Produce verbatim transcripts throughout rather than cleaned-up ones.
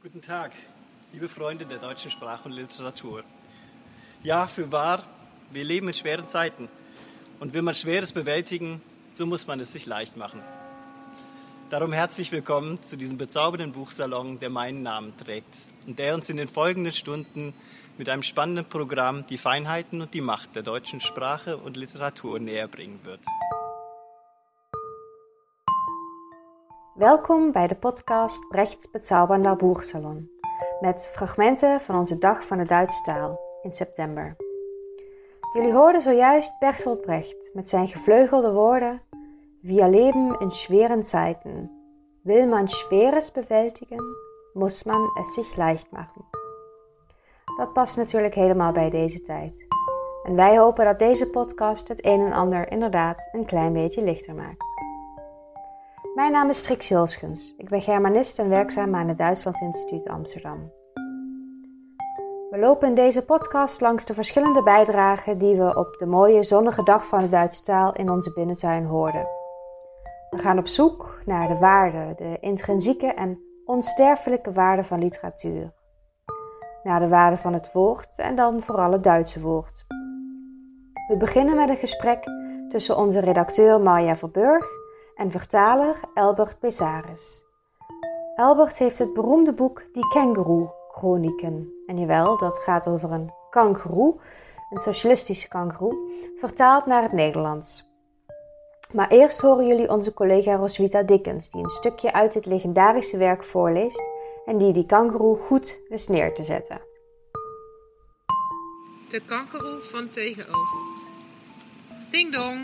Guten Tag, liebe Freunde der deutschen Sprache und Literatur. Ja, fürwahr, wir leben in schweren Zeiten. Und will man Schweres bewältigen, so muss man es sich leicht machen. Darum herzlich willkommen zu diesem bezaubernden Buchsalon, der meinen Namen trägt und der uns in den folgenden Stunden mit einem spannenden Programm die Feinheiten und die Macht der deutschen Sprache und Literatur näher bringen wird. Welkom bij de podcast Brechts Bezaubernder Buchsalon, met fragmenten van onze Dag van de Duitse Taal in september. Jullie hoorden zojuist Bertolt Brecht met zijn gevleugelde woorden: Wir leben in schweren Zeiten. Will man Schweres bewältigen, muss man es sich leicht machen. Dat past natuurlijk helemaal bij deze tijd. En wij hopen dat deze podcast het een en ander inderdaad een klein beetje lichter maakt. Mijn naam is Trix Hulschens. Ik ben Germanist en werkzaam aan het Duitsland Instituut Amsterdam. We lopen in deze podcast langs de verschillende bijdragen die we op de mooie zonnige dag van de Duitse taal in onze binnentuin hoorden. We gaan op zoek naar de waarde, de intrinsieke en onsterfelijke waarde van literatuur. Naar de waarde van het woord en dan vooral het Duitse woord. We beginnen met een gesprek tussen onze redacteur Marja Verburg en vertaler Elbert Besaris. Elbert heeft het beroemde boek Die Känguru-chronieken, en jawel, dat gaat over een kangoeroe, een socialistische kangoeroe, vertaald naar het Nederlands. Maar eerst horen jullie onze collega Roswitha Dickens, die een stukje uit dit legendarische werk voorleest en die die kangoeroe goed wist neer te zetten. De kangoeroe van tegenover. Ding dong.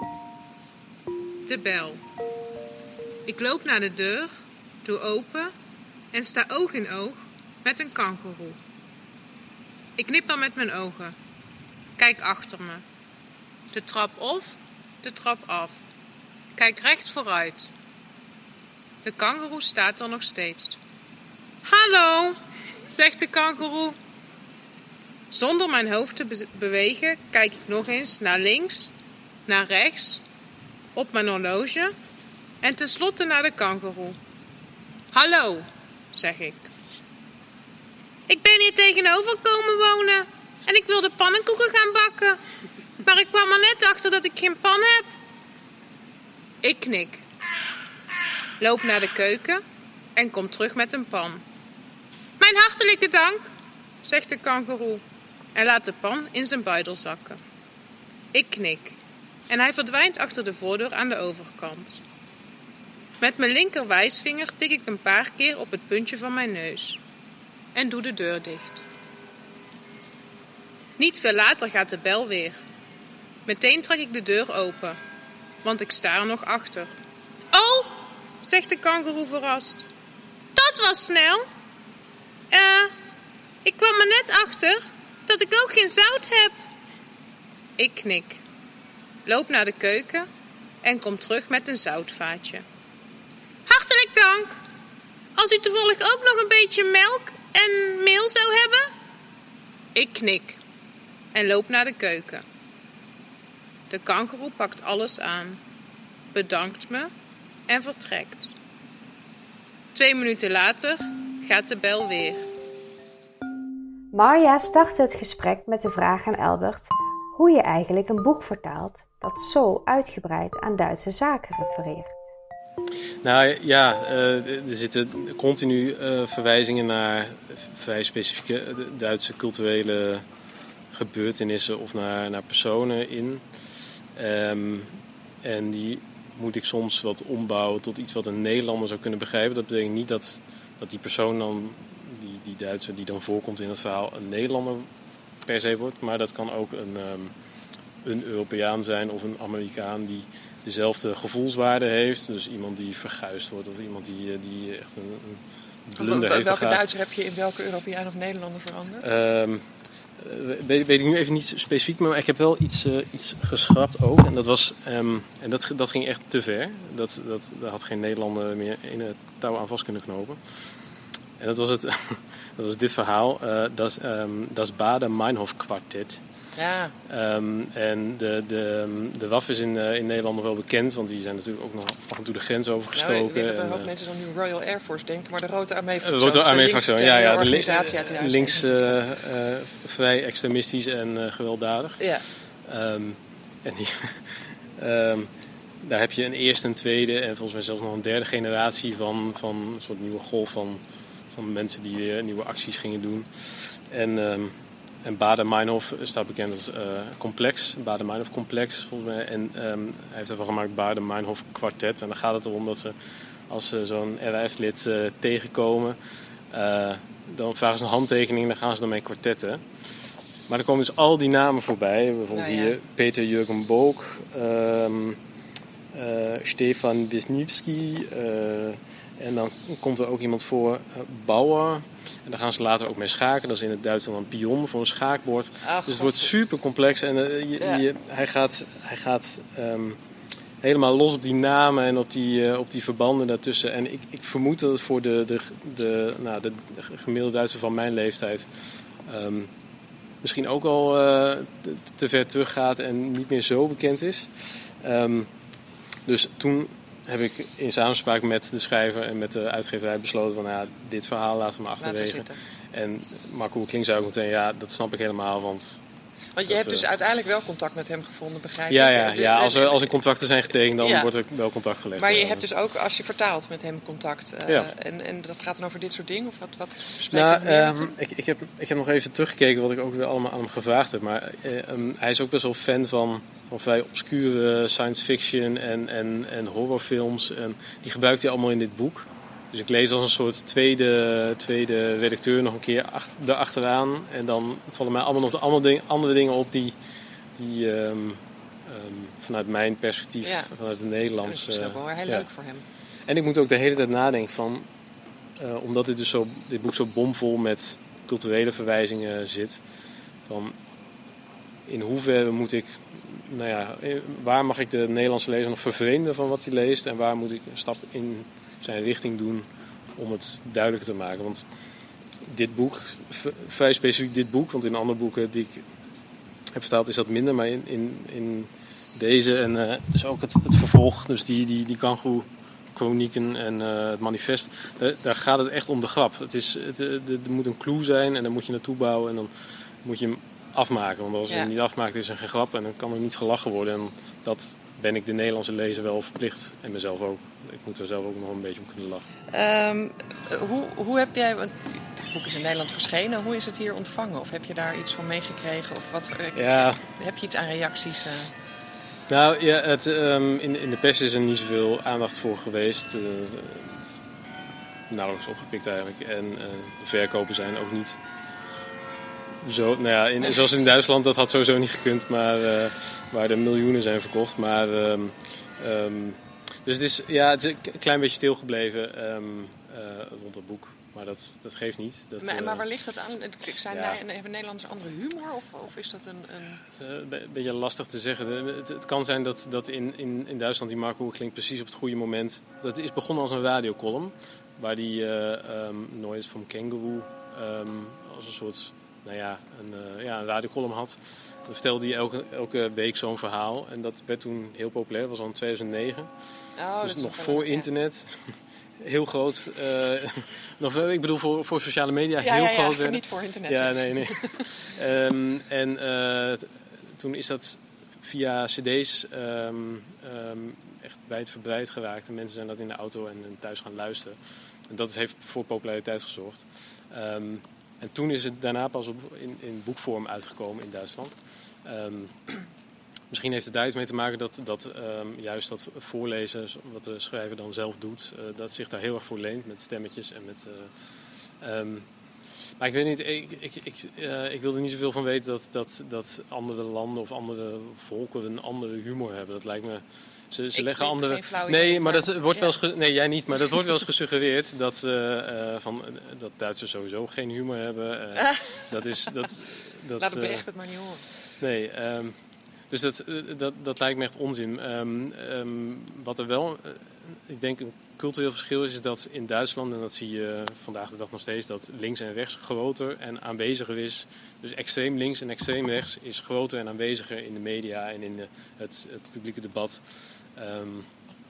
De bel. Ik loop naar de deur, doe open en sta oog in oog met een kangoeroe. Ik knipper met mijn ogen. Kijk achter me. De trap op, de trap af. Kijk recht vooruit. De kangoeroe staat er nog steeds. Hallo, zegt de kangoeroe. Zonder mijn hoofd te be- bewegen kijk ik nog eens naar links, naar rechts, op mijn horloge en tenslotte naar de kangoeroe. Hallo, zeg ik. Ik ben hier tegenover komen wonen en ik wilde pannenkoeken gaan bakken. Maar ik kwam er net achter dat ik geen pan heb. Ik knik. Loop naar de keuken en kom terug met een pan. Mijn hartelijke dank, zegt de kangoeroe en laat de pan in zijn buidel zakken. Ik knik en hij verdwijnt achter de voordeur aan de overkant. Met mijn linker wijsvinger tik ik een paar keer op het puntje van mijn neus en doe de deur dicht. Niet veel later gaat de bel weer. Meteen trek ik de deur open, want ik sta er nog achter. Oh, zegt de kangoeroe verrast. Dat was snel. Eh, uh, ik kwam er net achter dat ik ook geen zout heb. Ik knik. Loop naar de keuken en kom terug met een zoutvaatje. Hartelijk dank. Als u toevallig ook nog een beetje melk en meel zou hebben? Ik knik en loop naar de keuken. De kangoeroe pakt alles aan, bedankt me en vertrekt. Twee minuten later gaat de bel weer. Marja startte het gesprek met de vraag aan Elbert hoe je eigenlijk een boek vertaalt dat zo uitgebreid aan Duitse zaken refereert. Nou ja, uh, er zitten continu uh, verwijzingen naar vrij specifieke Duitse culturele gebeurtenissen of naar, naar personen in. Um, en die moet ik soms wat ombouwen tot iets wat een Nederlander zou kunnen begrijpen. Dat betekent niet dat, dat die persoon dan, die, die Duitser die dan voorkomt in het verhaal, een Nederlander per se wordt. Maar dat kan ook een, um, een Europeaan zijn of een Amerikaan die dezelfde gevoelswaarde heeft. Dus iemand die verguisd wordt of iemand die, die echt een, een blunder heeft Welke begaan. Duitser heb je in welke Europeaan of Nederlander veranderd? Um, weet, weet ik nu even niet specifiek, maar ik heb wel iets, uh, iets geschrapt ook. En dat, was, um, en dat, dat ging echt te ver. Dat, dat, daar had geen Nederlander meer in het touw aan vast kunnen knopen. En dat was, het, dat was dit verhaal. Uh, das, um, das Baader-Meinhof Quartet. Ja. Um, en de, de, de W A F is in, uh, in Nederland nog wel bekend, want die zijn natuurlijk ook nog af en toe de grens overgestoken. Nou, een hoop uh, mensen dan nu Royal Air Force denken, maar de Rode Armee van de Rode Armee van ja, ja, ja, de organisatie uit de jaren links uh, uh, vrij extremistisch en uh, gewelddadig. Ja. Um, en die, um, daar heb je een eerste, een tweede en volgens mij zelfs nog een derde generatie van, van een soort nieuwe golf van, van mensen die weer nieuwe acties gingen doen. En, um, en Baader-Meinhof staat bekend als uh, complex, Baader-Meinhof complex volgens mij. En um, hij heeft ervan gemaakt Baader-Meinhof kwartet. En dan gaat het erom dat ze, als ze zo'n R A F-lid uh, tegenkomen, uh, dan vragen ze een handtekening en dan gaan ze ermee kwartetten. Maar er komen dus al die namen voorbij. Bijvoorbeeld nou, ja. hier Peter Jürgen Book, um, uh, Stefan Wisniewski. Uh, en dan komt er ook iemand voor, uh, Bauer. En daar gaan ze later ook mee schaken. Dat is in het Duits dan een pion voor een schaakbord. Oh, dus het wordt super complex. En uh, je, ja. je, hij gaat, hij gaat um, helemaal los op die namen en op die, uh, op die verbanden daartussen. En ik, ik vermoed dat het voor de, de, de, nou, de, de gemiddelde Duitser van mijn leeftijd Um, misschien ook al uh, te, te ver teruggaat en niet meer zo bekend is. Um, dus toen heb ik in samenspraak met de schrijver en met de uitgeverij besloten van ja, dit verhaal laten we maar achterwege. En Marco Klink zei ook meteen ja, dat snap ik helemaal, want... Want je dat, hebt dus uh, uiteindelijk wel contact met hem gevonden, begrijp ja, ik? Ja, ja, als er, als er contracten zijn getekend, dan ja. wordt er wel contact gelegd. Maar je ja. hebt dus ook, als je vertaalt met hem contact, uh, ja. en, en dat gaat dan over dit soort dingen? Of wat, wat spreek nou, je meer um, ik, ik, heb, ik heb nog even teruggekeken wat ik ook weer allemaal aan hem gevraagd heb. Maar uh, um, hij is ook best wel fan van, van vrij obscure science fiction en, en, en horrorfilms. En die gebruikt hij allemaal in dit boek. Dus ik lees als een soort tweede, tweede redacteur nog een keer ach, erachteraan. En dan vallen mij allemaal nog de andere, ding, andere dingen op die, die um, um, vanuit mijn perspectief, ja. vanuit het Nederlands... Dat is ook wel heel ja. leuk voor hem. En ik moet ook de hele tijd nadenken van... Uh, omdat dit, dus zo, dit boek zo bomvol met culturele verwijzingen zit... van in hoeverre moet ik... Nou ja, waar mag ik de Nederlandse lezer nog vervreemden van wat hij leest... en waar moet ik een stap in... zijn richting doen om het duidelijker te maken. Want dit boek, vrij specifiek dit boek, want in andere boeken die ik heb vertaald is dat minder, maar in, in, in deze en uh, dus ook het, het vervolg, dus die, die, die Kangoo-chronieken en uh, het manifest, uh, daar gaat het echt om de grap. Het is, het, er moet een clue zijn en dan moet je naartoe bouwen en dan moet je hem afmaken. Want als je ja. hem niet afmaakt is er geen grap en dan kan er niet gelachen worden. En dat ben ik de Nederlandse lezer wel verplicht en mezelf ook. Ik moet er zelf ook nog een beetje om kunnen lachen. Um, hoe, hoe heb jij... Want het boek is in Nederland verschenen. Hoe is het hier ontvangen? Of heb je daar iets van meegekregen? Of wat, ja. Heb je iets aan reacties? Uh... Nou ja, het, um, in, in de pers is er niet zoveel aandacht voor geweest. Uh, nauwelijks opgepikt eigenlijk. En uh, de verkopen zijn ook niet... Zo, nou ja, in, zoals in Duitsland, dat had sowieso niet gekund, maar uh, waar er miljoenen zijn verkocht. Maar, um, um, dus het is, ja, het is een klein beetje stilgebleven um, uh, rond het boek. Maar dat, dat geeft niet. Dat, maar, uh, maar waar ligt het aan? Zijn ja. daar, hebben Nederlanders andere humor? Of, of is dat een... een... Het is uh, een beetje lastig te zeggen. Het, het kan zijn dat, dat in, in, in Duitsland die Marco klinkt precies op het goede moment. Dat is begonnen als een radiocolumn. Waar die uh, um, Noise from Kangaroo um, als een soort... Nou ja, een, uh, ja, een radiocolumn had. Dan vertelde hij elke, elke week zo'n verhaal. En dat werd toen heel populair. Dat was al in tweeduizend negen. Oh, dus nog voor internet. Heel groot. Uh, nog, ik bedoel voor, voor sociale media ja, heel ja, groot. Ja, voor niet voor internet. Ja, nee, nee. um, en uh, t- toen is dat via cd's um, um, echt wijdverbreid geraakt. En mensen zijn dat in de auto en, en thuis gaan luisteren. En dat heeft voor populariteit gezorgd. Um, En toen is het daarna pas op in, in boekvorm uitgekomen in Duitsland. Um, misschien heeft het daar iets mee te maken dat, dat um, juist dat voorlezen, wat de schrijver dan zelf doet, uh, dat zich daar heel erg voor leent met stemmetjes en met... Uh, um, maar ik weet niet, ik, ik, ik, uh, ik wil er niet zoveel van weten dat, dat, dat andere landen of andere volken een andere humor hebben. Dat lijkt me... Ze, ze ik leggen andere. Nee, maar dat wordt ja. wel eens ge... Nee, jij niet, maar dat wordt wel eens gesuggereerd dat, uh, uh, van, uh, dat Duitsers sowieso geen humor hebben. Uh, dat is, dat, dat, Laat het uh, bericht het maar niet horen. Nee, um, dus dat, uh, dat, dat lijkt me echt onzin. Um, um, wat er wel, uh, ik denk, een cultureel verschil is, is dat in Duitsland, en dat zie je vandaag de dag nog steeds, dat links en rechts groter en aanweziger is. Dus extreem links en extreem rechts is groter en aanweziger in de media en in de, het, het publieke debat. Um,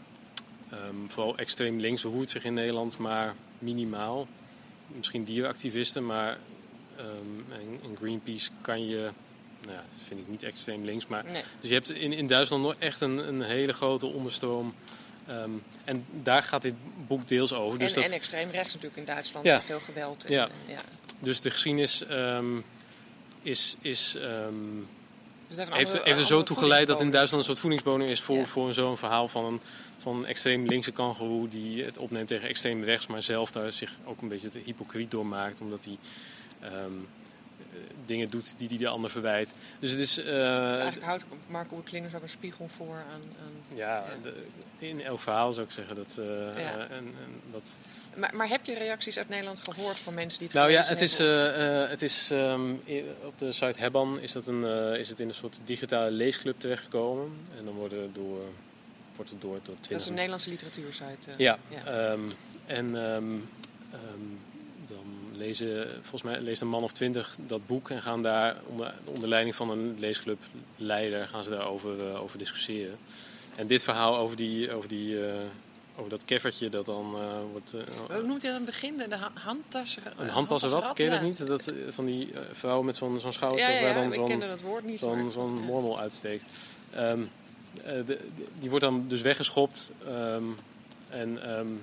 um, vooral extreem links roert zich in Nederland, maar minimaal. Misschien dierenactivisten, maar um, en, en Greenpeace kan je... Nou ja, dat vind ik niet extreem links. Maar, nee. Dus je hebt in, in Duitsland nog echt een, een hele grote onderstroom. Um, en daar gaat dit boek deels over. Dus en, dat, en extreem rechts natuurlijk in Duitsland. Ja. Veel geweld. En, ja. En, ja. Dus de geschiedenis um, is, is, um, dus heeft, heeft, andere, heeft er zo toe geleid dat in Duitsland een soort voedingsbodem is voor, ja. voor zo'n verhaal van een, van een extreem linkse kangoeroe die het opneemt tegen extreem rechts, maar zelf daar zich ook een beetje te hypocriet door maakt, omdat hij um, dingen doet die hij de ander verwijt. Dus het is... Uh, Eigenlijk houdt Marco Klingers ook een spiegel voor aan... aan ja, ja. De, in elk verhaal zou ik zeggen dat... Uh, ja. uh, en, en dat... Maar, maar heb je reacties uit Nederland gehoord van mensen die het nou ja, gelezen het hebben? is, uh, uh, het is um, op de site Hebban is, dat een, uh, is het in een soort digitale leesclub terechtgekomen. En dan worden door, wordt het door, door twintig... Dat is een Nederlandse literatuursite. Uh, ja, ja. Um, en um, um, dan lezen, volgens mij leest een man of twintig dat boek en gaan daar onder, onder leiding van een leesclubleider gaan ze daarover uh, over discussiëren. En dit verhaal over die... Over die uh, over dat keffertje dat dan uh, wordt... Uh, Hoe noemt hij dat aan het begin? De ha- handtassen? Een handtassenrat, ken je dat niet? Dat, van die uh, vrouw met zo'n, zo'n schouder ja, ja, ja, waar dan zo'n, dat woord niet, zo'n, maar, zo'n ja. mormel uitsteekt. Um, uh, de, de, die wordt dan dus weggeschopt. Um, en um,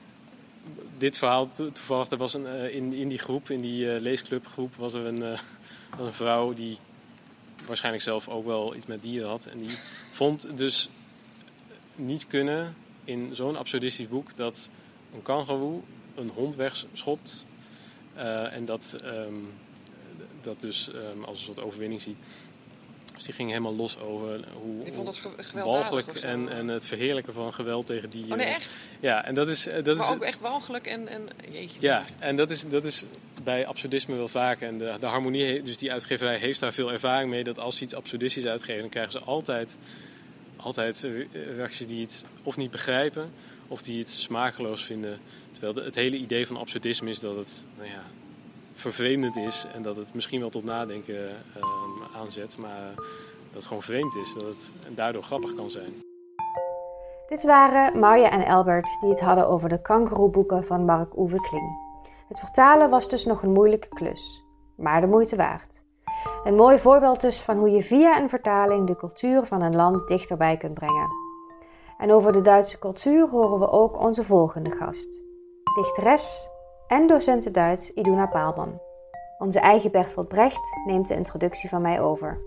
dit verhaal, to, toevallig, er was een, uh, in, in die groep, in die uh, leesclubgroep, was er een, uh, een vrouw die waarschijnlijk zelf ook wel iets met dieren had. En die vond dus niet kunnen... in zo'n absurdistisch boek dat een kangoeroe een hond wegschopt uh, en dat, um, dat dus um, als een soort overwinning ziet. Dus die ging helemaal los over hoe, die vond het ge- hoe walgelijk of en, en het verheerlijken van geweld tegen dieren. Oh nee, echt? Ja, en dat is... Dat maar is, ook echt walgelijk en... en jeetje. Ja, en dat is, dat is bij absurdisme wel vaak. En de, de harmonie, dus die uitgeverij heeft daar veel ervaring mee, dat als ze iets absurdistisch uitgeven, dan krijgen ze altijd... altijd reacties die het of niet begrijpen of die het smakeloos vinden. Terwijl de, het hele idee van absurdisme is dat het nou ja, vervreemdend is en dat het misschien wel tot nadenken um, aanzet, maar dat het gewoon vreemd is, dat het en daardoor grappig kan zijn. Dit waren Marja en Albert die het hadden over de kangoeroeboeken van Marc-Uwe Kling. Het vertalen was dus nog een moeilijke klus, maar de moeite waard. Een mooi voorbeeld dus van hoe je via een vertaling de cultuur van een land dichterbij kunt brengen. En over de Duitse cultuur horen we ook onze volgende gast. Dichteres en docenten Duits Iduna Paalman. Onze eigen Bertolt Brecht neemt de introductie van mij over.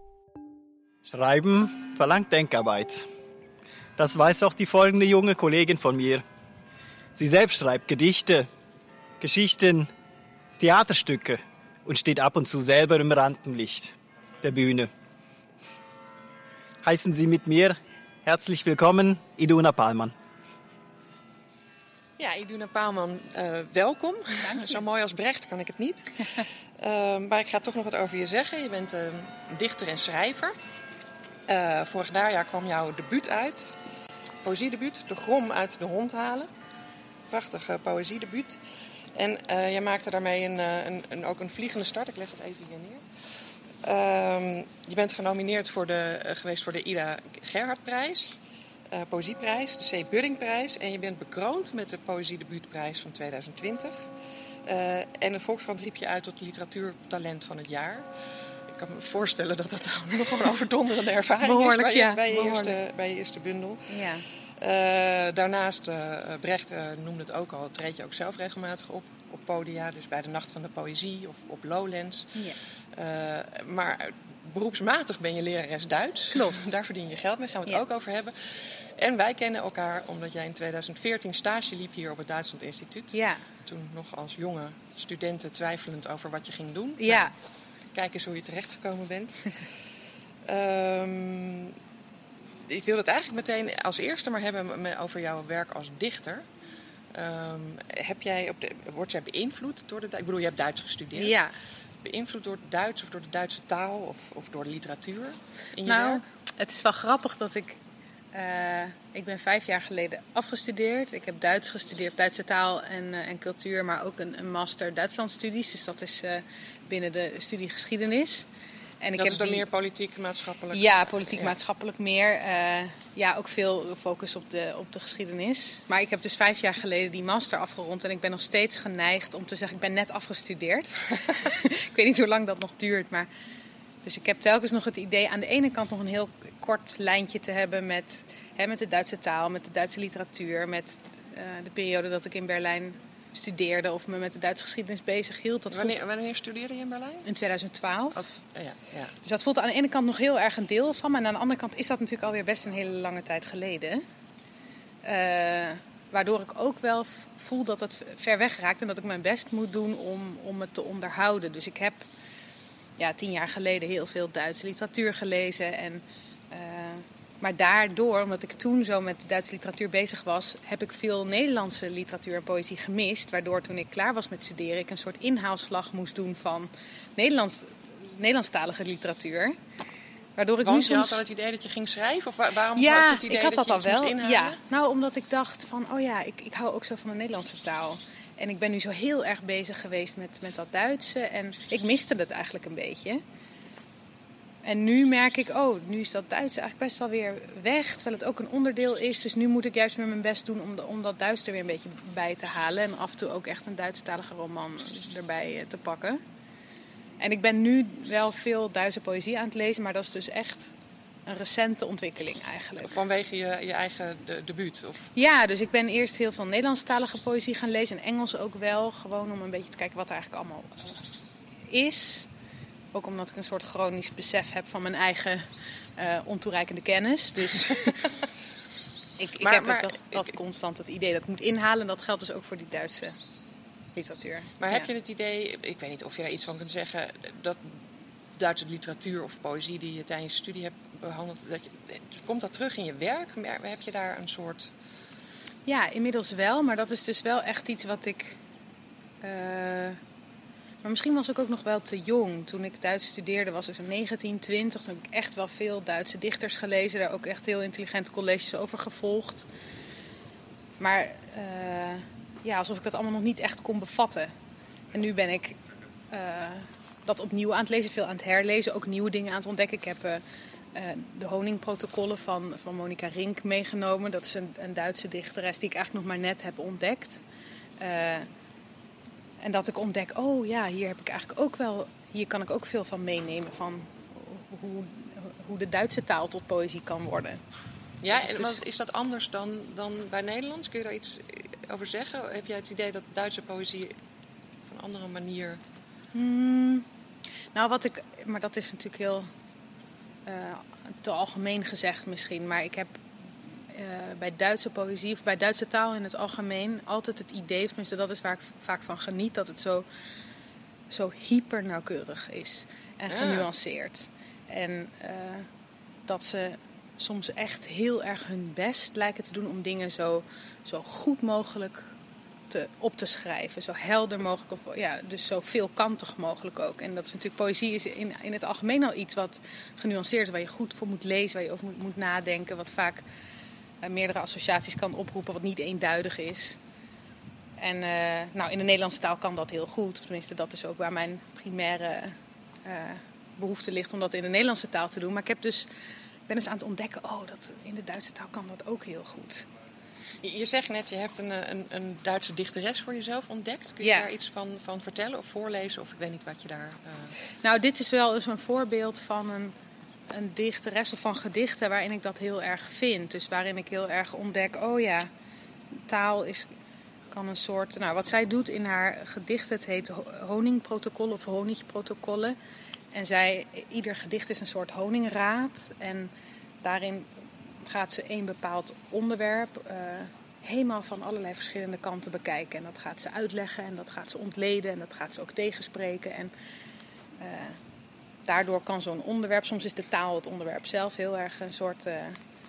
Schreiben verlangt Denkarbeit. Das weiß auch die folgende junge Kollegin von mir. Sie selbst schreibt Gedichte, Geschichten, Theaterstücke und steht ab und zu selber im Rampenlicht der Bühne. Heißen Sie mit mir herzlich willkommen, Iduna Paalman. Ja, Iduna Paalman, uh, welkom. Zo mooi als Brecht kan ik het niet. uh, maar ik ga toch nog wat over je zeggen. Je bent uh, dichter en schrijver. Uh, vorig najaar kwam jouw debuut uit. Poëziedebuut, De Grom uit de hond halen. Prachtig uh, poëziedebuut. En uh, jij maakte daarmee een, een, een, ook een vliegende start. Ik leg het even hier neer. Uh, je bent genomineerd voor de, uh, geweest voor de Ida Gerhardprijs. Uh, Poëzieprijs, de C. Buddingprijs. En je bent bekroond met de Poëziedebuutprijs van tweeduizend twintig. Uh, en de Volkskrant riep je uit tot literatuurtalent van het jaar. Ik kan me voorstellen dat dat nog een overdonderende ervaring Behoorlijk, is bij, ja. bij, je Behoorlijk. eerste, bij je eerste bundel. Ja. Uh, daarnaast, uh, Brecht uh, noemde het ook al, treed je ook zelf regelmatig op op podia. Dus bij de Nacht van de Poëzie of op Lowlands. Ja. Uh, maar beroepsmatig ben je lerares Duits. Klopt. Daar verdien je geld mee, gaan we het Ja. ook over hebben. En wij kennen elkaar omdat jij in tweeduizend veertien stage liep hier op het Duitsland Instituut. Ja. Toen nog als jonge studenten twijfelend over wat je ging doen. Ja. Nou, kijk eens hoe je terechtgekomen bent. um, ik wil het eigenlijk meteen als eerste maar hebben over jouw werk als dichter. Um, heb jij op de, word jij beïnvloed door de... Ik bedoel, je hebt Duits gestudeerd. Ja. Beïnvloed door het Duits of door de Duitse taal of, of door de literatuur in je Nou, werk? het is wel grappig dat ik Uh, ik ben vijf jaar geleden afgestudeerd. Ik heb Duits gestudeerd, Duitse taal en, uh, en cultuur, maar ook een, een master Duitslandstudies. Dus dat is uh, binnen de studie geschiedenis. En ik dat heb is dan die... meer politiek, maatschappelijk? Ja, politiek, ja. maatschappelijk meer. Uh, ja, ook veel focus op de, op de geschiedenis. Maar ik heb dus vijf jaar geleden die master afgerond. En ik ben nog steeds geneigd om te zeggen, ik ben net afgestudeerd. Ik weet niet hoe lang dat nog duurt. Maar... Dus ik heb telkens nog het idee aan de ene kant nog een heel kort lijntje te hebben met, hè, met de Duitse taal, met de Duitse literatuur, met uh, de periode dat ik in Berlijn studeerde of me met de Duitse geschiedenis bezig hield. Dat wanneer, voelt... wanneer studeerde je in Berlijn? In twintig twaalf. Of, ja, ja. Dus dat voelt aan de ene kant nog heel erg een deel van me. En aan de andere kant is dat natuurlijk alweer best een hele lange tijd geleden. Uh, waardoor ik ook wel voel dat het ver weg raakt en dat ik mijn best moet doen om, om het te onderhouden. Dus ik heb ja, tien jaar geleden heel veel Duitse literatuur gelezen. En, uh, maar daardoor, omdat ik toen zo met Duitse literatuur bezig was, heb ik veel Nederlandse literatuur en poëzie gemist. Waardoor toen ik klaar was met studeren, ik een soort inhaalslag moest doen van Nederlands, Nederlandstalige literatuur. Waardoor ik Want nu je soms... had al het idee dat je ging schrijven? Of waarom ja, had je het idee ik had dat, dat je al iets wel. moest inhalen? Ja, nou omdat ik dacht van, oh ja, ik, ik hou ook zo van de Nederlandse taal. En ik ben nu zo heel erg bezig geweest met, met dat Duitse. En ik miste het eigenlijk een beetje. En nu merk ik, oh, nu is dat Duitse eigenlijk best wel weer weg. Terwijl het ook een onderdeel is. Dus nu moet ik juist weer mijn best doen om, de, om dat Duits er weer een beetje bij te halen. En af en toe ook echt een Duitsstalige roman erbij te pakken. En ik ben nu wel veel Duitse poëzie aan het lezen. Maar dat is dus echt een recente ontwikkeling eigenlijk. Vanwege je, je eigen de, debuut? Of? Ja, dus ik ben eerst heel veel Nederlandstalige poëzie gaan lezen. En Engels ook wel. Gewoon om een beetje te kijken wat er eigenlijk allemaal uh, is. Ook omdat ik een soort chronisch besef heb van mijn eigen uh, ontoereikende kennis. Dus ik, ik maar, heb maar, het, dat, dat ik, constant het idee dat ik moet inhalen. En dat geldt dus ook voor die Duitse literatuur. Maar ja. heb je het idee, ik weet niet of je daar iets van kunt zeggen, dat Duitse literatuur of poëzie die je tijdens je studie hebt behandeld, dat je, komt dat terug in je werk? Heb je daar een soort... Ja, inmiddels wel. Maar dat is dus wel echt iets wat ik... Uh, Maar misschien was ik ook nog wel te jong. Toen ik Duits studeerde was ik zo'n negentien, twintig. Toen heb ik echt wel veel Duitse dichters gelezen. Daar ook echt heel intelligente colleges over gevolgd. Maar uh, ja, alsof ik dat allemaal nog niet echt kon bevatten. En nu ben ik uh, dat opnieuw aan het lezen. Veel aan het herlezen. Ook nieuwe dingen aan het ontdekken. Ik heb uh, uh, de honingprotocollen van, van Monica Rink meegenomen. Dat is een, een Duitse dichteres die ik eigenlijk nog maar net heb ontdekt. Uh, En dat ik ontdek, oh ja, hier heb ik eigenlijk ook wel, hier kan ik ook veel van meenemen van hoe, hoe de Duitse taal tot poëzie kan worden. Ja, dus, en is dat anders dan, dan bij Nederlands? Kun je daar iets over zeggen? Heb jij het idee dat Duitse poëzie op een andere manier... Hmm, nou, wat ik, maar dat is natuurlijk heel uh, te algemeen gezegd misschien, maar ik heb Uh, bij Duitse poëzie of bij Duitse taal in het algemeen altijd het idee, tenminste dat is waar ik vaak van geniet, dat het zo, zo hyper nauwkeurig is en genuanceerd. Ja. En uh, dat ze soms echt heel erg hun best lijken te doen om dingen zo, zo goed mogelijk te, op te schrijven. Zo helder mogelijk, of, ja, dus zo veelkantig mogelijk ook. En dat is natuurlijk, poëzie is in, in het algemeen al iets wat genuanceerd is, waar je goed voor moet lezen, waar je over moet, moet nadenken, wat vaak Uh, meerdere associaties kan oproepen, wat niet eenduidig is. En uh, nou, in de Nederlandse taal kan dat heel goed. Of tenminste, dat is ook waar mijn primaire uh, behoefte ligt om dat in de Nederlandse taal te doen. Maar ik heb dus, ben dus aan het ontdekken, oh, dat in de Duitse taal kan dat ook heel goed. Je, je zegt net, je hebt een, een, een Duitse dichteres voor jezelf ontdekt. Kun je ja. daar iets van, van vertellen of voorlezen? Of ik weet niet wat je daar... Uh... Nou, dit is wel eens een voorbeeld van een... een dichteres of van gedichten waarin ik dat heel erg vind. Dus waarin ik heel erg ontdek, oh ja, taal is, kan een soort... Nou, wat zij doet in haar gedicht, het heet honingprotocollen of honigprotocollen. En zij, ieder gedicht is een soort honingraad. En daarin gaat ze een bepaald onderwerp uh, helemaal van allerlei verschillende kanten bekijken. En dat gaat ze uitleggen en dat gaat ze ontleden en dat gaat ze ook tegenspreken. En... Uh, Daardoor kan zo'n onderwerp, soms is de taal het onderwerp zelf heel erg een soort uh,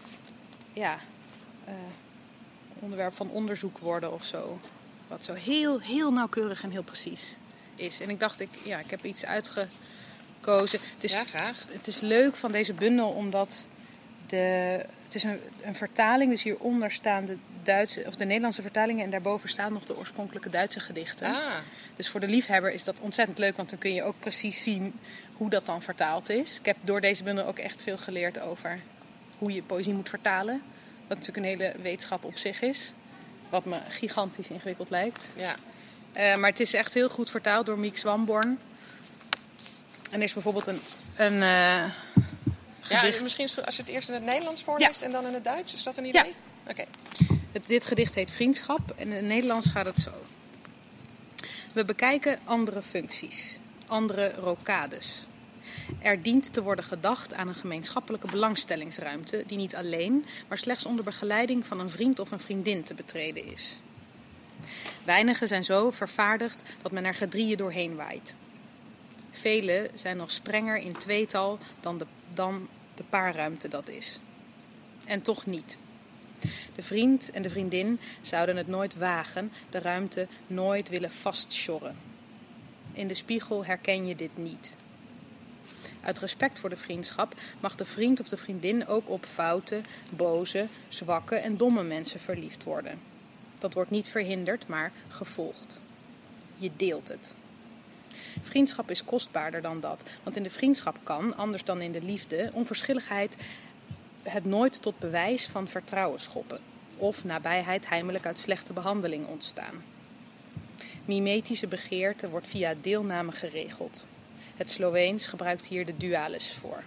ja, uh, onderwerp van onderzoek worden of zo. Wat zo heel, heel nauwkeurig en heel precies is. En ik dacht, ik, ja, ik heb iets uitgekozen. Het is, ja, graag. Het is leuk van deze bundel omdat de, Het is een, een vertaling, dus hieronder staan de, Duitse, of de Nederlandse vertalingen en daarboven staan nog de oorspronkelijke Duitse gedichten. Ah. Dus voor de liefhebber is dat ontzettend leuk, want dan kun je ook precies zien hoe dat dan vertaald is. Ik heb door deze bundel ook echt veel geleerd over hoe je poëzie moet vertalen. Wat natuurlijk een hele wetenschap op zich is. Wat me gigantisch ingewikkeld lijkt. Ja. Uh, maar het is echt heel goed vertaald door Miek Swamborn. En er is bijvoorbeeld een, een uh, gedicht. Ja, misschien als je het eerst in het Nederlands voorleest ja. en dan in het Duits. Is dat een idee? Ja. Oké. Okay. Dit gedicht heet Vriendschap en in het Nederlands gaat het zo. We bekijken andere functies, andere rokades. Er dient te worden gedacht aan een gemeenschappelijke belangstellingsruimte die niet alleen, maar slechts onder begeleiding van een vriend of een vriendin te betreden is. Weinigen zijn zo vervaardigd dat men er gedrieën doorheen waait. Velen zijn nog strenger in tweetal dan de, dan de paarruimte dat is. En toch niet. De vriend en de vriendin zouden het nooit wagen, de ruimte nooit willen vastsjorren. In de spiegel herken je dit niet. Uit respect voor de vriendschap mag de vriend of de vriendin ook op foute, boze, zwakke en domme mensen verliefd worden. Dat wordt niet verhinderd, maar gevolgd. Je deelt het. Vriendschap is kostbaarder dan dat, want in de vriendschap kan, anders dan in de liefde, onverschilligheid het nooit tot bewijs van vertrouwen schoppen of nabijheid heimelijk uit slechte behandeling ontstaan. Mimetische begeerte wordt via deelname geregeld. Het Sloveens gebruikt hier de dualis voor.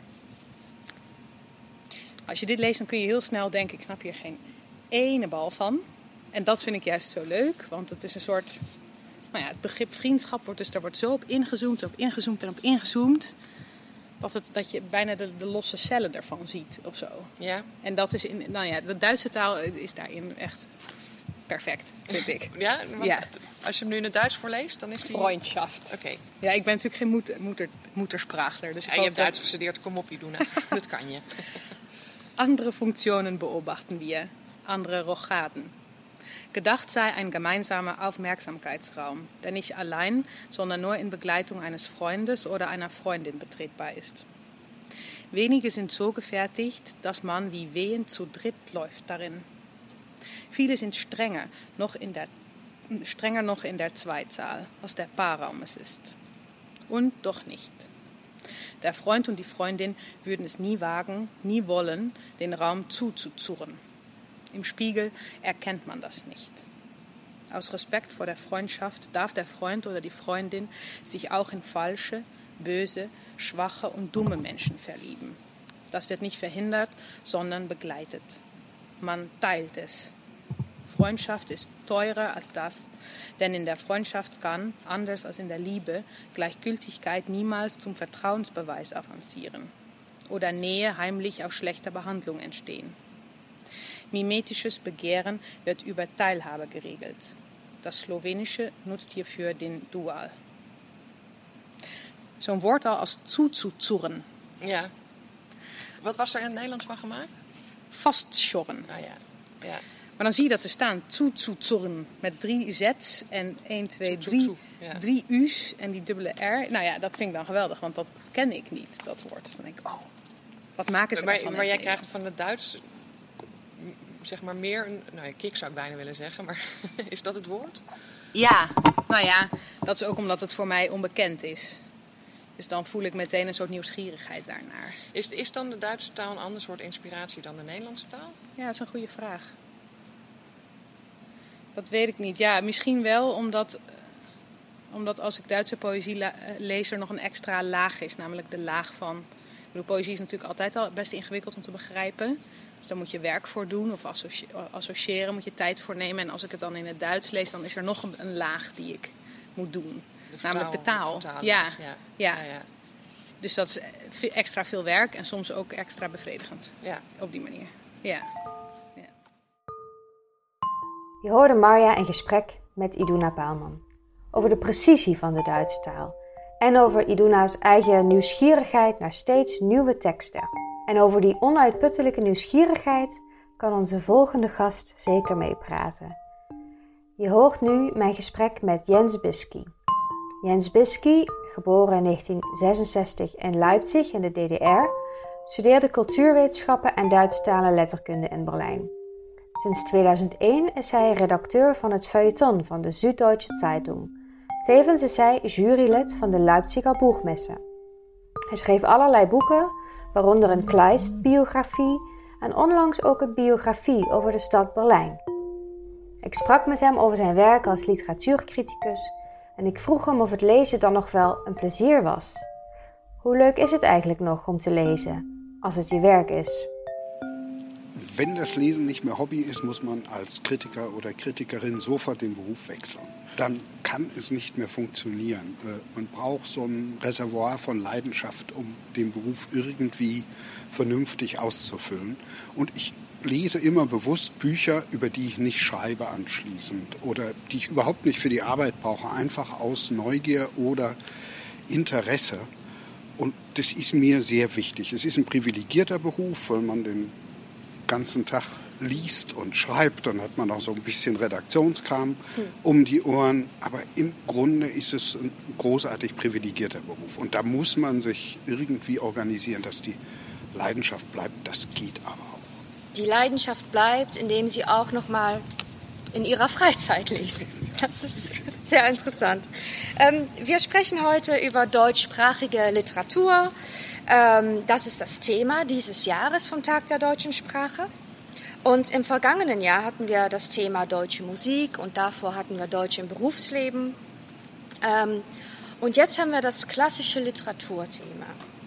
Als je dit leest, dan kun je heel snel denken, ik snap hier geen ene bal van. En dat vind ik juist zo leuk, want het is een soort... Nou ja, het begrip vriendschap wordt dus, daar wordt zo op ingezoomd, op ingezoomd en op ingezoomd, dat, het, dat je bijna de, de losse cellen ervan ziet of zo. Ja. En dat is in, nou ja, de Duitse taal is daarin echt perfect, vind ik. Ja? Wat, ja. Als je hem nu in het Duits voorleest, dan is die... Freundschaft. Oké. Okay. Ja, ik ben natuurlijk geen moeder, moeder, moedersprachler. Dus ja, je hebt Duits gestudeerd, kom op, Iduna. Dat kan je. Andere Funktionen beobachten wir, andere Rochaden. Gedacht sei ein gemeinsamer Aufmerksamkeitsraum, der nicht allein, sondern nur in Begleitung eines Freundes oder einer Freundin betretbar ist. Wenige sind so gefertigt, dass man wie wehend zu dritt läuft darin. Viele sind strenger noch in der, strenger noch in der Zweizahl, was der Paarraum es ist. Und doch nicht. Der Freund und die Freundin würden es nie wagen, nie wollen, den Raum zuzuzurren. Im Spiegel erkennt man das nicht. Aus Respekt vor der Freundschaft darf der Freund oder die Freundin sich auch in falsche, böse, schwache und dumme Menschen verlieben. Das wird nicht verhindert, sondern begleitet. Man teilt es. Freundschaft ist teurer als das, denn in der Freundschaft kann, anders als in der Liebe, Gleichgültigkeit niemals zum Vertrauensbeweis avancieren oder Nähe heimlich aus schlechter Behandlung entstehen. Mimetisches Begehren wird über Teilhabe geregelt. Das Slowenische nutzt hierfür den Dual. Zo'n woord al als zuzuzurren. Ja. Wat was er in het Nederlands van gemaakt? Vastsjorren. Ah ja. Ja. Maar dan zie je dat er staan zuzuzurren met drie z's en één, twee, drie, ja. drie u's en die dubbele r. Nou ja, dat vind ik dan geweldig, want dat ken ik niet, dat woord. Dus dan denk ik, oh, wat maken ze maar, ervan? Maar, maar jij krijgt van het Duits... zeg maar meer een... Nou ja, kick zou ik bijna willen zeggen, maar is dat het woord? Ja, nou ja, dat is ook omdat het voor mij onbekend is. Dus dan voel ik meteen een soort nieuwsgierigheid daarnaar. Is, is dan de Duitse taal een ander soort inspiratie dan de Nederlandse taal? Ja, dat is een goede vraag. Dat weet ik niet. Ja, misschien wel omdat, omdat als ik Duitse poëzie la- lees er nog een extra laag is. Namelijk de laag van... Ik bedoel, poëzie is natuurlijk altijd al best ingewikkeld om te begrijpen. Dus daar moet je werk voor doen of associe- associëren, moet je tijd voor nemen. En als ik het dan in het Duits lees, dan is er nog een, een laag die ik moet doen. De vertaal, namelijk de taal. De ja. Ja. Ja. Ja, ja. Dus dat is extra veel werk en soms ook extra bevredigend. Ja. Op die manier. Ja. Ja. Je hoorde Marja in gesprek met Iduna Paalman over de precisie van de Duitse taal en over Iduna's eigen nieuwsgierigheid naar steeds nieuwe teksten. En over die onuitputtelijke nieuwsgierigheid kan onze volgende gast zeker meepraten. Je hoort nu mijn gesprek met Jens Bisky. Jens Bisky, geboren in negentien zesenzestig in Leipzig in de D D R, studeerde cultuurwetenschappen en Duitsstalige letterkunde in Berlijn. Sinds tweeduizend één is hij redacteur van het feuilleton van de Süddeutsche Zeitung. Tevens is hij jurylid van de Leipziger Buchmesse. Hij schreef allerlei boeken, waaronder een Kleist-biografie en onlangs ook een biografie over de stad Berlijn. Ik sprak met hem over zijn werk als literatuurcriticus en ik vroeg hem of het lezen dan nog wel een plezier was. Hoe leuk is het eigenlijk nog om te lezen, als het je werk is? Wenn das Lesen nicht mehr Hobby ist, muss man als Kritiker oder Kritikerin sofort den Beruf wechseln. Dann kann es nicht mehr funktionieren. Man braucht so ein Reservoir von Leidenschaft, um den Beruf irgendwie vernünftig auszufüllen. Und ich lese immer bewusst Bücher, über die ich nicht schreibe anschließend oder die ich überhaupt nicht für die Arbeit brauche, einfach aus Neugier oder Interesse. Und das ist mir sehr wichtig. Es ist ein privilegierter Beruf, weil man den ganzen Tag liest und schreibt, dann hat man auch so ein bisschen Redaktionskram um die Ohren, aber im Grunde ist es ein großartig privilegierter Beruf und da muss man sich irgendwie organisieren, dass die Leidenschaft bleibt, das geht aber auch. Die Leidenschaft bleibt, indem Sie auch noch mal in Ihrer Freizeit lesen. Das ist sehr interessant. Ähm, wir sprechen heute über deutschsprachige Literatur. Ähm, das ist das Thema dieses Jahres vom Tag der deutschen Sprache. Und im vergangenen Jahr hatten wir das Thema deutsche Musik und davor hatten wir Deutsch im Berufsleben. Ähm, und jetzt haben wir das klassische Literaturthema.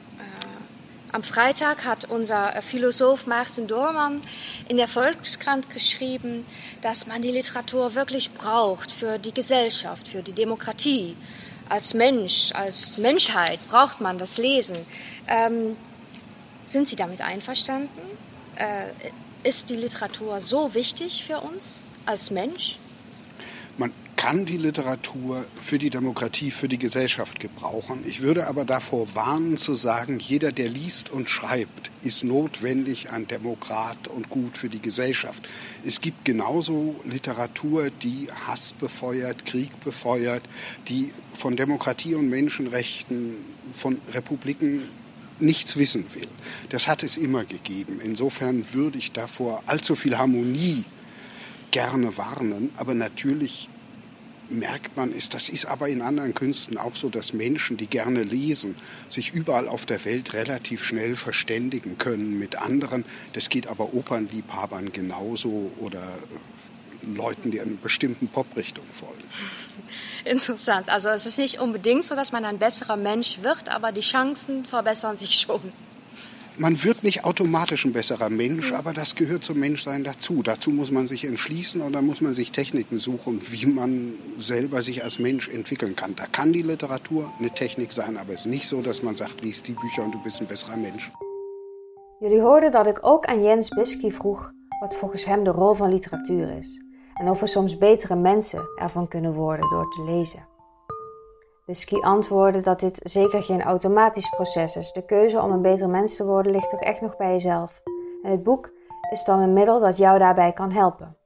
Äh, am Freitag hat unser Philosoph Martin Doorman in der Volkskrant geschrieben, dass man die Literatur wirklich braucht für die Gesellschaft, für die Demokratie. Als Mensch, als Menschheit braucht man das Lesen. Ähm, sind Sie damit einverstanden? Äh, ist die Literatur so wichtig für uns als Mensch? Man kann die Literatur für die Demokratie, für die Gesellschaft gebrauchen. Ich würde aber davor warnen zu sagen, jeder, der liest und schreibt, ist notwendig ein Demokrat und gut für die Gesellschaft. Es gibt genauso Literatur, die Hass befeuert, Krieg befeuert, die von Demokratie und Menschenrechten, von Republiken nichts wissen will. Das hat es immer gegeben. Insofern würde ich davor allzu viel Harmonie gerne warnen, aber natürlich merkt man es, das ist aber in anderen Künsten auch so, dass Menschen, die gerne lesen, sich überall auf der Welt relativ schnell verständigen können mit anderen. Das geht aber Opernliebhabern genauso oder Leuten, die einer bestimmten Poprichtung folgen. Interessant. Also es ist nicht unbedingt so, dass man ein besserer Mensch wird, aber die Chancen verbessern sich schon. Man wird nicht automatisch ein besserer Mensch, aber das gehört zum Menschsein dazu. Dazu muss man sich entschließen und dann muss man sich Techniken suchen, wie man selber sich als Mensch entwickeln kann. Da kann die Literatur eine Technik sein, aber es ist nicht so, dass man sagt, lies die Bücher und du bist ein besserer Mensch. Jullie hoorden dat ik ook aan Jens Bisky vroeg wat volgens hem de rol van literatuur is. En of we soms betere mensen ervan kunnen worden door te lezen. Bisky antwoordde dat dit zeker geen automatisch proces is. De keuze om een beter mens te worden ligt toch echt nog bij jezelf. En het boek is dan een middel dat jou daarbij kan helpen.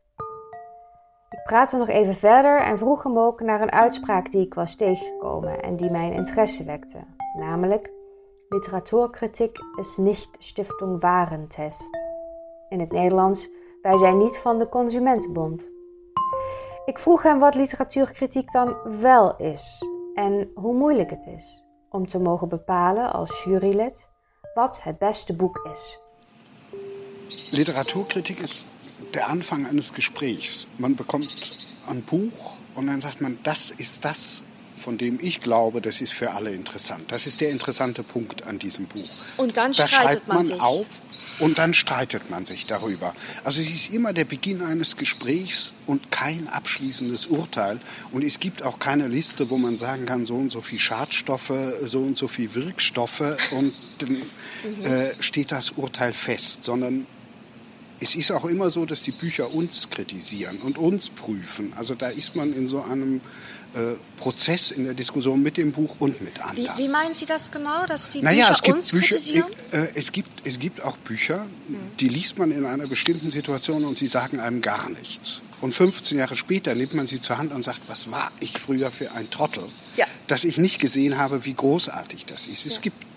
Ik praatte nog even verder en vroeg hem ook naar een uitspraak die ik was tegengekomen en die mijn interesse wekte. Namelijk, literatuurkritiek is niet Stiftung Warentest. In het Nederlands, wij zijn niet van de Consumentenbond. Ik vroeg hem wat literatuurkritiek dan wel is en hoe moeilijk het is om te mogen bepalen als jurylid wat het beste boek is. Literaturkritik ist der Anfang eines Gesprächs. Man bekommt ein Buch und dann sagt man, das ist das, von dem ich glaube, das ist für alle interessant. Das ist der interessante Punkt an diesem Buch. Und dann da streitet man, man sich. auf und dann streitet man sich darüber. Also es ist immer der Beginn eines Gesprächs und kein abschließendes Urteil. Und es gibt auch keine Liste, wo man sagen kann, so und so viel Schadstoffe, so und so viel Wirkstoffe und dann mhm. äh, steht das Urteil fest, sondern es ist auch immer so, dass die Bücher uns kritisieren und uns prüfen. Also da ist man in so einem äh, Prozess in der Diskussion mit dem Buch und mit anderen. Wie, wie meinen Sie das genau, dass die naja, Bücher es gibt uns Bücher, kritisieren? Äh, es, gibt, es gibt auch Bücher, die liest man in einer bestimmten Situation und sie sagen einem gar nichts. Und fünfzehn Jahre später nimmt man sie zur Hand und sagt, was war ich früher für ein Trottel, ja. dass ich nicht gesehen habe, wie großartig das ist. Es ja. gibt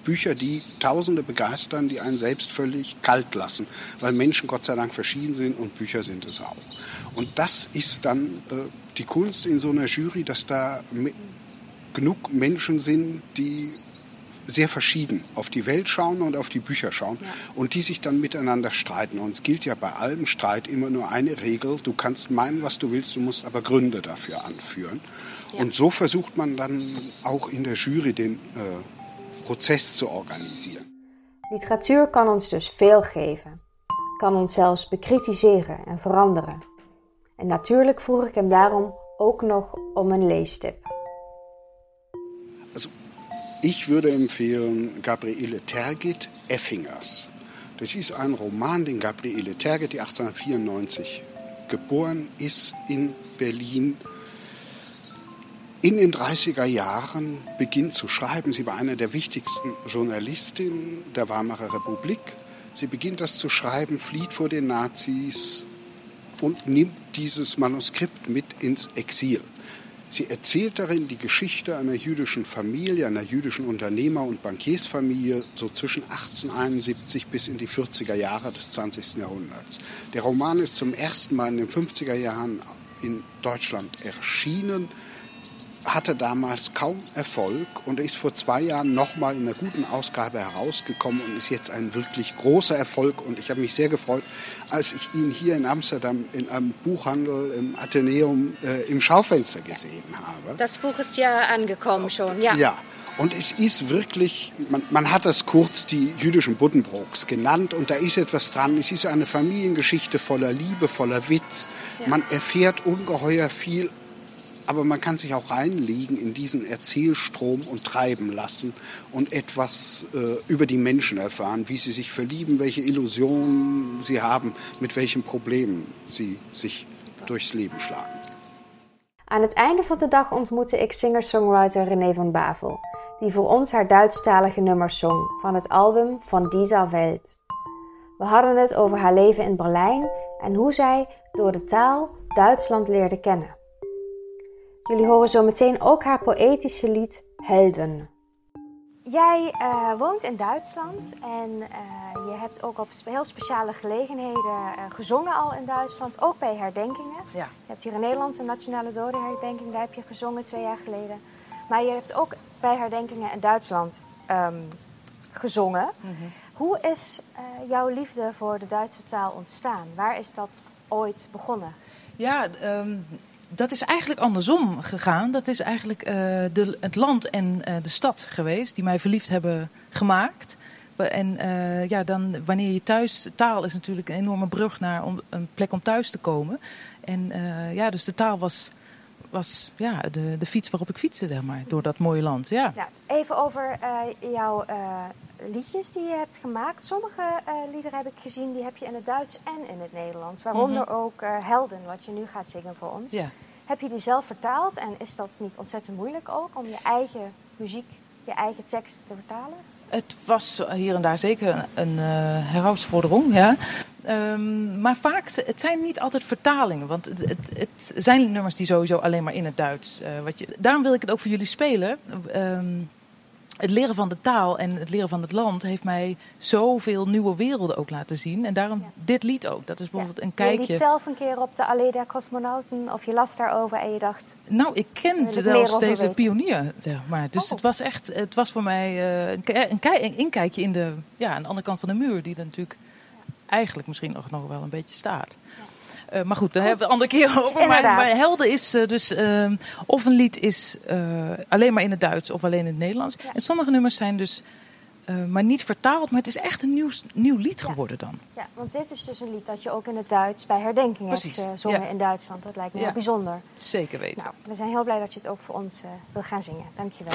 Bücher, die Tausende begeistern, die einen selbst völlig kalt lassen, weil Menschen Gott sei Dank verschieden sind und Bücher sind es auch. Und das ist dann äh, die Kunst in so einer Jury, dass da me- genug Menschen sind, die sehr verschieden auf die Welt schauen und auf die Bücher schauen ja. und die sich dann miteinander streiten. Und es gilt ja bei allem Streit immer nur eine Regel: Du kannst meinen, was du willst, du musst aber Gründe dafür anführen. Ja. Und so versucht man dann auch in der Jury den äh, Prozess zu organisieren. Literatuur kan ons dus veel geven. Kan ons zelfs bekritiseren en veranderen. En natuurlijk vroeg ik hem daarom ook nog om een leestip. Also, ich würde empfehlen Gabriele Tergit, Effingers. Das ist ein Roman, den Gabriele Tergit, die achtzehnhundertvierundneunzig geboren ist in Berlin, in den dreißiger Jahren beginnt zu schreiben. Sie war eine der wichtigsten Journalistinnen der Weimarer Republik. Sie beginnt das zu schreiben, flieht vor den Nazis und nimmt dieses Manuskript mit ins Exil. Sie erzählt darin die Geschichte einer jüdischen Familie, einer jüdischen Unternehmer- und Bankiersfamilie, so zwischen achtzehnhunderteinundsiebzig bis in die vierziger Jahre des zwanzigsten Jahrhunderts. Der Roman ist zum ersten Mal in den fünfziger Jahren in Deutschland erschienen, hatte damals kaum Erfolg und ist vor zwei Jahren nochmal in einer guten Ausgabe herausgekommen und ist jetzt ein wirklich großer Erfolg. Und ich habe mich sehr gefreut, als ich ihn hier in Amsterdam in einem Buchhandel im Athenäum äh, im Schaufenster gesehen habe. Das Buch ist ja angekommen schon, ja. Ja, und es ist wirklich, man, man hat das kurz die jüdischen Buddenbrooks genannt und da ist etwas dran. Es ist eine Familiengeschichte voller Liebe, voller Witz. Ja. Man erfährt ungeheuer viel. Aber man kann sich auch reinlegen in diesen Erzählstrom und treiben lassen und etwas äh, über die Menschen erfahren, wie sie sich verlieben, welche Illusionen sie haben, mit welchen Problemen sie sich durchs Leben schlagen. Aan het einde van de dag ontmoette ik singer-songwriter René van Bavel, die voor ons haar Duitsstalige nummers zong van het album Von dieser Welt. We hadden het over haar leven in Berlijn en hoe zij door de taal Duitsland leerde kennen. Jullie horen zo meteen ook haar poëtische lied Helden. Jij uh, woont in Duitsland en uh, je hebt ook op heel speciale gelegenheden uh, gezongen al in Duitsland. Ook bij herdenkingen. Ja. Je hebt hier in Nederland een nationale dodenherdenking, daar heb je gezongen twee jaar geleden. Maar je hebt ook bij herdenkingen in Duitsland um, gezongen. Mm-hmm. Hoe is uh, jouw liefde voor de Duitse taal ontstaan? Waar is dat ooit begonnen? Ja, um... dat is eigenlijk andersom gegaan. Dat is eigenlijk uh, de, het land en uh, de stad geweest die mij verliefd hebben gemaakt. En uh, ja, dan wanneer je thuis... Taal is natuurlijk een enorme brug naar om, een plek om thuis te komen. En uh, ja, dus de taal was, was ja, de, de fiets waarop ik fietste, zeg maar, door dat mooie land. Ja. Ja, even over uh, jouw uh, liedjes die je hebt gemaakt. Sommige uh, liederen heb ik gezien, die heb je in het Duits en in het Nederlands. Waaronder mm-hmm. ook uh, Helden, wat je nu gaat zingen voor ons. Ja. Heb je die zelf vertaald en is dat niet ontzettend moeilijk ook om je eigen muziek, je eigen teksten te vertalen? Het was hier en daar zeker een, een uh, herausforderung, ja. Um, maar vaak, het zijn niet altijd vertalingen. Want het, het, het zijn nummers die sowieso alleen maar in het Duits. Uh, wat je, daarom wil ik het ook voor jullie spelen. Um, het leren van de taal en het leren van het land heeft mij zoveel nieuwe werelden ook laten zien. En daarom ja. dit lied ook. Dat is bijvoorbeeld ja. een kijkje. Je liet zelf een keer op de Allee der Cosmonauten of je las daarover en je dacht... Nou, ik kende zelfs deze pionier, zeg maar. Dus oh. het was echt, het was voor mij uh, een, een, kei, een inkijkje in de, ja, aan de andere kant van de muur. Die er natuurlijk ja. eigenlijk misschien nog, nog wel een beetje staat. Ja. Uh, maar goed, daar hebben we het een andere keer over. Maar, maar Helden is uh, dus... Uh, of een lied is uh, alleen maar in het Duits of alleen in het Nederlands. Ja. En sommige nummers zijn dus... Uh, maar niet vertaald, maar het is echt een nieuw, nieuw lied geworden dan. Ja, want dit is dus een lied dat je ook in het Duits bij herdenking Precies. hebt gezongen ja. in Duitsland. Dat lijkt me ja. heel bijzonder. Zeker weten. Nou, we zijn heel blij dat je het ook voor ons uh, wil gaan zingen. Dank je wel.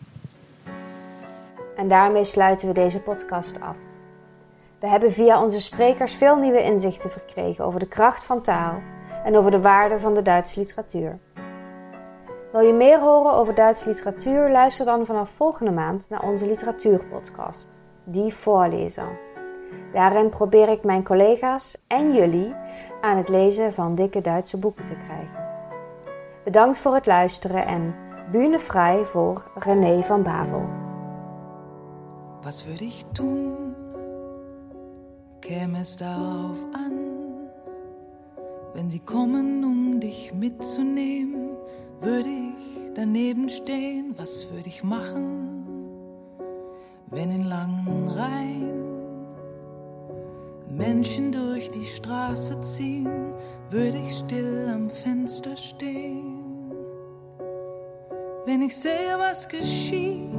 En daarmee sluiten we deze podcast af. We hebben via onze sprekers veel nieuwe inzichten verkregen over de kracht van taal en over de waarde van de Duitse literatuur. Wil je meer horen over Duitse literatuur? Luister dan vanaf volgende maand naar onze literatuurpodcast, Die Voorlezer. Daarin probeer ik mijn collega's en jullie aan het lezen van dikke Duitse boeken te krijgen. Bedankt voor het luisteren en Bühne vrij voor René van Bavel. Was würde ich tun, käme es darauf an, wenn sie kommen, um dich mitzunehmen, würde ich daneben stehen, was würde ich machen, wenn in langen Reihen Menschen durch die Straße ziehen, würde ich still am Fenster stehen. Wenn ich sehe, was geschieht,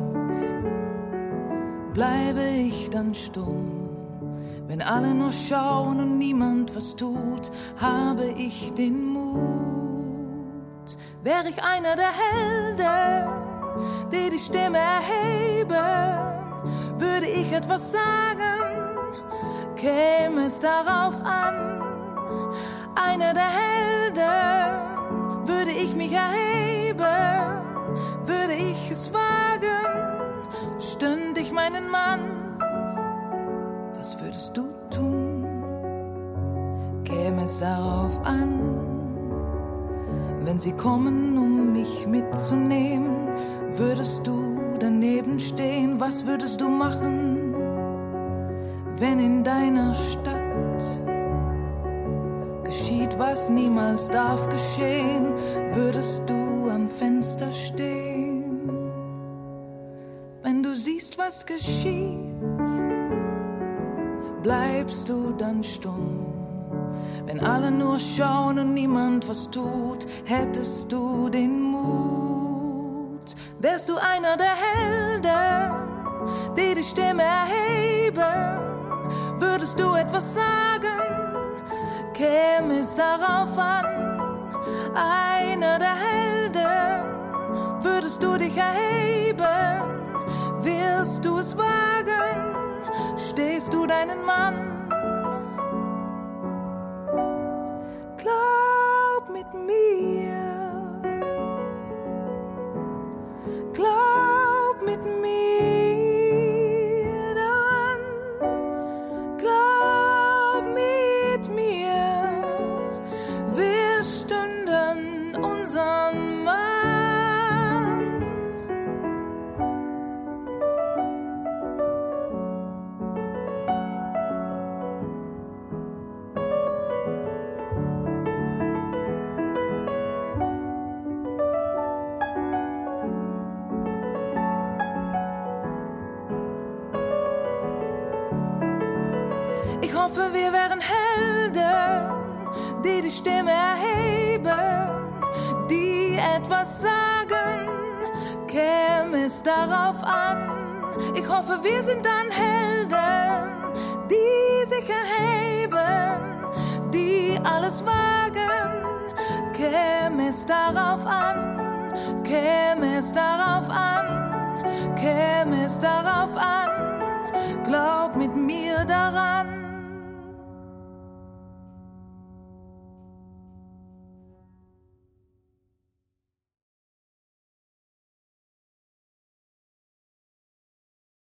bleibe ich dann stumm. Wenn alle nur schauen und niemand was tut, habe ich den Mut. Wäre ich einer der Helden, die die Stimme erheben, würde ich etwas sagen, käme es darauf an. Einer der Helden, würde ich mich erheben, würde ich es wagen, stünd ich meinen Mann. Was würdest du tun, käme es darauf an, wenn sie kommen, um mich mitzunehmen, würdest du daneben stehen, was würdest du machen, wenn in deiner Stadt geschieht, was niemals darf geschehen, würdest du am Fenster stehen, wenn du siehst, was geschieht, bleibst du dann stumm? Wenn alle nur schauen und niemand was tut, hättest du den Mut. Wärst du einer der Helden, die die Stimme erheben, würdest du etwas sagen, käme es darauf an. Einer der Helden, würdest du dich erheben, wirst du es wagen, stehst du deinen Mann. Glaub mit mir, glaub mit mir daran, glaub mit mir, wir stünden unseren Mann. Ich hoffe, wir wären Helden, die die Stimme erheben, die etwas sagen, käme es darauf an. Ich hoffe, wir sind dann Helden, die sich erheben, die alles wagen, käme es darauf an, käme es darauf an, käme es darauf an, glaub mit mir daran.